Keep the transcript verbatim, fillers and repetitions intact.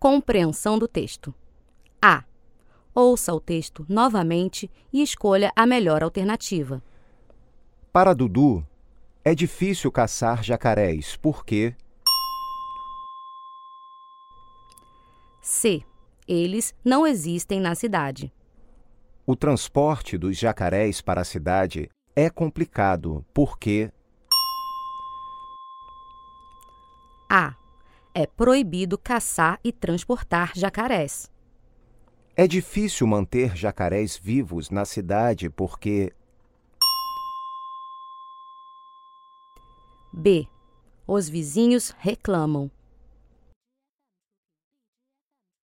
Compreensão do texto. A. Ouça o texto novamente e escolha a melhor alternativa. Para Dudu, é difícil caçar jacarés porque... C. Eles não existem na cidade. O transporte dos jacarés para a cidade é complicado porque... A. É proibido caçar e transportar jacarés. É difícil manter jacarés vivos na cidade porque... B. Os vizinhos reclamam.